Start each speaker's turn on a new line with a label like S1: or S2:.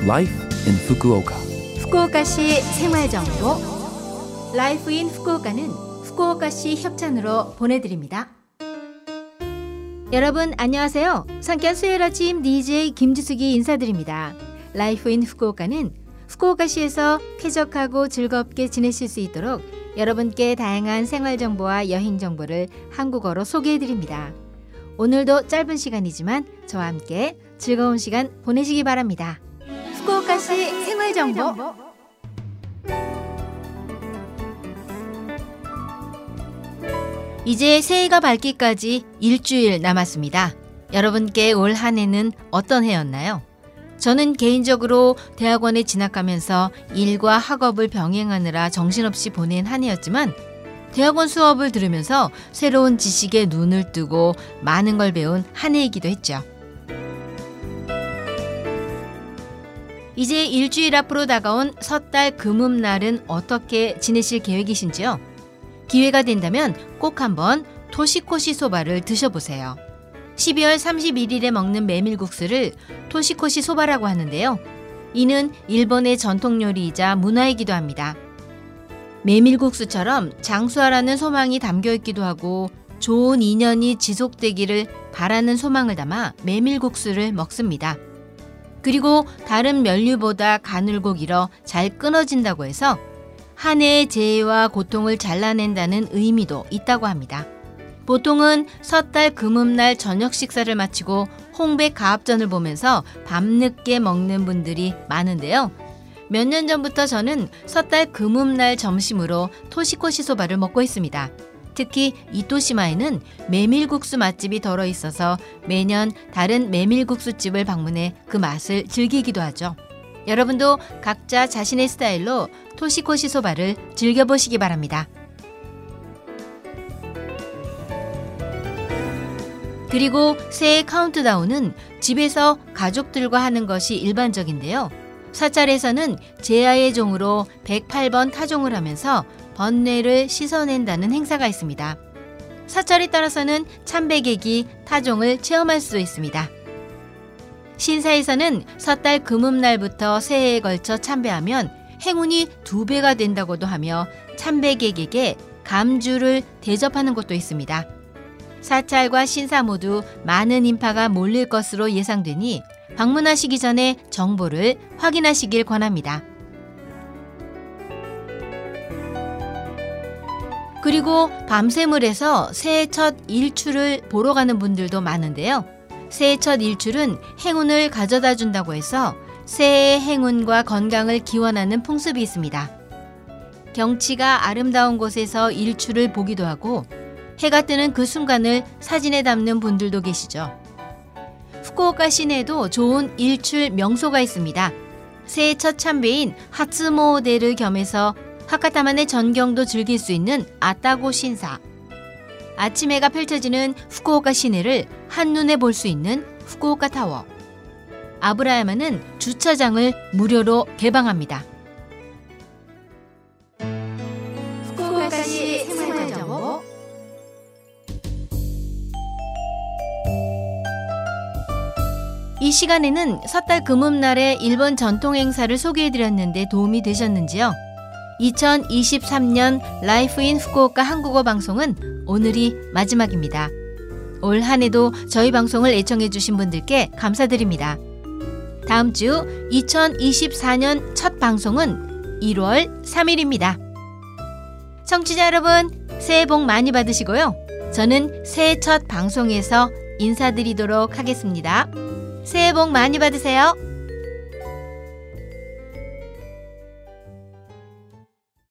S1: Life in Fukuoka.
S2: 후쿠오카시 생활정보 Life in Fukuoka는 후쿠오카시 협찬으로 보내드립니다. 여러분 안녕하세요. 상쾌한 수요일 아침 DJ 김지숙이 인사드립니다. Life in Fukuoka는 후쿠오카시에서 쾌적하고 즐겁게 지내실 수 있도록 여러분께 다양한 생활정보와 여행정보를 한국어로 소개해드립니다. 오늘도 짧은 시간이지만 저와 함께 즐거운 시간 보내시기 바랍니다. 후쿠오카시 생활정보 이제 새해가 밝기까지 일주일 남았습니다. 여러분께 올 한 해는 어떤 해였나요? 저는 개인적으로 대학원에 진학하면서 일과 학업을 병행하느라 정신없이 보낸 한 해였지만 대학원 수업을 들으면서 새로운 지식에 눈을 뜨고 많은 걸 배운 한 해이기도 했죠. 이제 일주일 앞으로 다가온 섣달 금음날은 어떻게 지내실 계획이신지요? 기회가 된다면 꼭 한번 토시코시 소바를 드셔보세요. 12월 31일에 먹는 메밀국수를 토시코시 소바라고 하는데요. 이는 일본의 전통 요리이자 문화이기도 합니다. 메밀국수처럼 장수하라는 소망이 담겨 있기도 하고 좋은 인연이 지속되기를 바라는 소망을 담아 메밀국수를 먹습니다. 그리고 다른 면류보다 가늘고 길어 잘 끊어진다고 해서 한 해의 재해와 고통을 잘라낸다는 의미도 있다고 합니다. 보통은 섣달 금음날 저녁 식사를 마치고 홍백 가합전을 보면서 밤늦게 먹는 분들이 많은데요. 몇 년 전부터 저는 섣달 금음날 점심으로 토시코시 소바를 먹고 있습니다. 특히 이토시마에는 메밀국수 맛집이 덜어 있어서 매년 다른 메밀국수집을 방문해 그 맛을 즐기기도 하죠. 여러분도 각자 자신의 스타일로 토시코시 소바를 즐겨보시기 바랍니다. 그리고 새해 카운트다운은 집에서 가족들과 하는 것이 일반적인데요. 사찰에서는 제야의 종으로 108번 타종을 하면서 번뇌를 씻어낸다는 행사가 있습니다. 사찰에 따라서는 참배객이 타종을 체험할 수도 있습니다. 신사에서는 섣달 금음날부터 새해에 걸쳐 참배하면 행운이 2배가 된다고도 하며 참배객에게 감주를 대접하는 곳도 있습니다. 사찰과 신사 모두 많은 인파가 몰릴 것으로 예상되니 방문하시기 전에 정보를 확인하시길 권합니다. 그리고 밤샘을해서 새해 첫 일출을 보러 가는 분들도 많은데요. 새해 첫 일출은 행운을 가져다 준다고 해서 새해의 행운과 건강을 기원하는 풍습이 있습니다. 경치가 아름다운 곳에서 일출을 보기도 하고 해가 뜨는 그 순간을 사진에 담는 분들도 계시죠. 후쿠오카 시내에도 좋은 일출 명소가 있습니다. 새해 첫 참배인 하츠모데를 겸해서 하카타만의 전경도 즐길 수 있는 아타고 신사. 아침 해가 펼쳐지는 후쿠오카 시내를 한눈에 볼 수 있는 후쿠오카 타워. 아브라야마는 주차장을 무료로 개방합니다. 후쿠오카시 생활정보 이 시간에는 섣달 금음날의 일본 전통 행사를 소개해드렸는데 도움이 되셨는지요? 2023년 라이프 인 후쿠오카 한국어 방송은 오늘이 마지막입니다. 올 한 해도 저희 방송을 애청해주신 분들께 감사드립니다. 다음 주 2024년 첫 방송은 1월 3일입니다. 청취자 여러분, 새해 복 많이 받으시고요. 저는 새해 첫 방송에서 인사드리도록 하겠습니다. 새해 복 많이 받으세요.